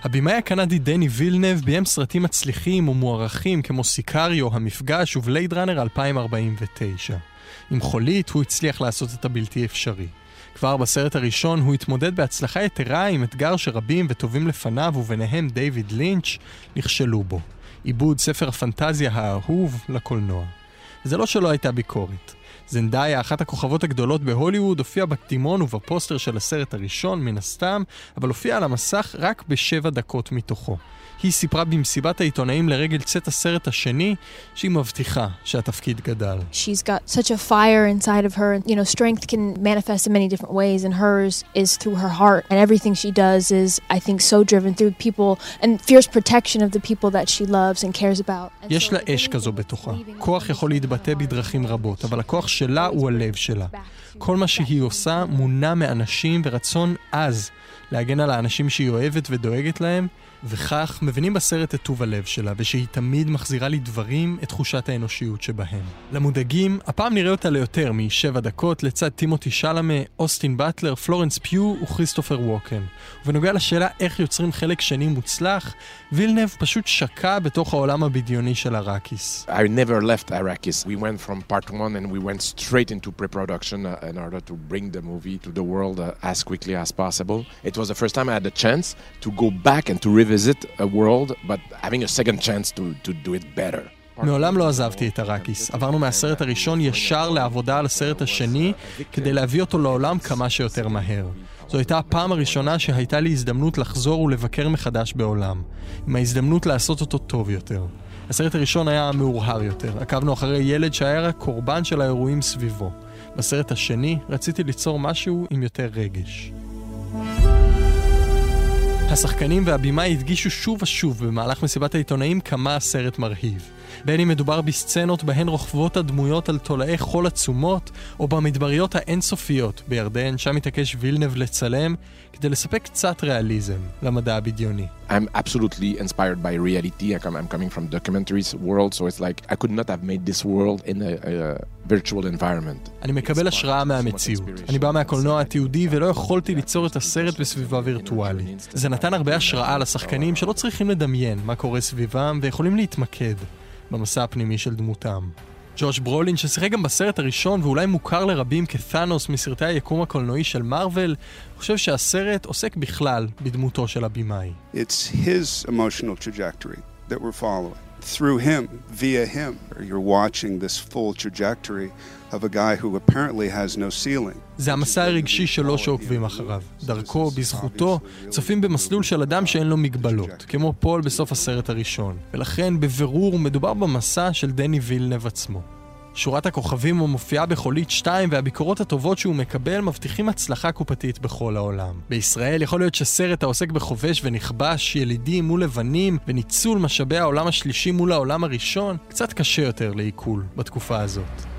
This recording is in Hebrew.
הבמאי הקנדי דני וילנב ביים סרטים מצליחים ומוערכים כמו סיקריו, המפגש ובלייד ראנר 2049. עם חולית הוא הצליח לעשות את הבלתי אפשרי. כבר בסרט הראשון הוא התמודד בהצלחה יתרה עם אתגר שרבים וטובים לפניו וביניהם דיוויד לינץ' נכשלו בו. עיבוד ספר הפנטזיה האהוב לקולנוע. זה לא שלא הייתה ביקורת. זנדאיה, אחת הכוכבות הגדולות בהוליווד, הופיעה בקדימון ובפוסטר של הסרט הראשון מן הסתם, אבל הופיעה על המסך רק ב7 דקות מתוכו. היא סיפרה במסיבת העיתונאים לרגל צאת הסרט השני שהיא מבטיחה שהתפקיד גדל. She's got such a fire inside of her. You know, strength can manifest in many different ways, and hers is through her heart. And everything she does is, I think, so driven through people and fierce protection of the people that she loves and cares about. יש לה אש כזו בתוכה. כוח יכול להתבטא בדרכים רבות, אבל הכוח שלה הוא הלב שלה. כל מה שהיא עושה מונע מאנשים ורצון עז להגן על האנשים שהיא אוהבת ודואגת להם, וכך מבינים בסרט את טוב הלב שלה, ושהיא תמיד מחזירה לדברים את תחושת האנושיות שבהם. למודאגים, הפעם נראה אותה ליותר מ7 דקות לצד טימותי שלמה, אוסטין באטלר, פלורנס פיו וכריסטופר ווקן. ובנוגע לשאלה איך יוצרים חלק שני מוצלח, וילנב פשוט שקע בתוך העולם הבדיוני של אראקיס. I never left Arrakis. We went from part 1 and we went straight into pre-production in order to bring the movie to the world as quickly as possible. It was the first time I had the chance to go back and to revisit a world, but having a second chance to do it better. מעולם לא עזבתי את אראקיס. עברנו מהסרט הראשון ישר לעבודה על הסרט השני כדי להביא אותו לעולם כמה שיותר מהר. זו הייתה הפעם הראשונה שהייתה לי הזדמנות לחזור ולבקר מחדש בעולם, עם ההזדמנות לעשות אותו טוב יותר. הסרט הראשון היה מאורהר יותר. עקבנו אחרי ילד שהיה רק קורבן של האירועים סביבו. בסרט השני רציתי ליצור משהו עם יותר רגש. השחקנים והבימאי הדגישו שוב ושוב במהלך מסיבת העיתונאים כמה הסרט מרהיב. בין אם מדובר בסצנות בהן רוכבות הדמויות על תולעי חול עצומות, או במדבריות האינסופיות בירדן, שם מתעקש וילנב לצלם כדי לספק קצת ריאליזם למדע הבדיוני. I'm absolutely inspired by reality. I'm coming from documentaries world, so it's like I could not have made this world in a virtual environment. אני מקבל השראה מהמציאות. אני בא מהקולנוע התיעודי ולא יכולתי ליצור את הסרט בסביבה וירטואלית. זה נתן הרבה השראה לשחקנים שלא צריכים לדמיין מה קורה סביבם ויכולים להתמקד במסע הפנימי של דמותם. ג'וש ברולין, ששיחק גם בסרט הראשון ואולי מוכר לרבים כת'אנוס מסרטי היקום הקולנועי של מארוול, חושב שהסרט עוסק בכלל בדמותו של הבימאי. It's his emotional trajectory that we're following. Through him, via him, you're watching this full trajectory of a guy who apparently has no ceiling. זה המסע הרגשי שלו שעוקבים אחריו. דרכו, בזכותו, צופים במסלול של אדם שאין לו מגבלות, כמו פול בסוף הסרט הראשון. ולכן, בבירור, מדובר במסע של דני וילנב עצמו. שורת הכוכבים הוא מופיעה בחולית 2, והביקורות הטובות שהוא מקבל מבטיחים הצלחה קופתית בכל העולם. בישראל יכול להיות שסרט העוסק בחובש ונכבש, ילידים מול לבנים, וניצול משאבי העולם השלישי מול העולם הראשון, קצת קשה יותר לעיכול בתקופה הזאת.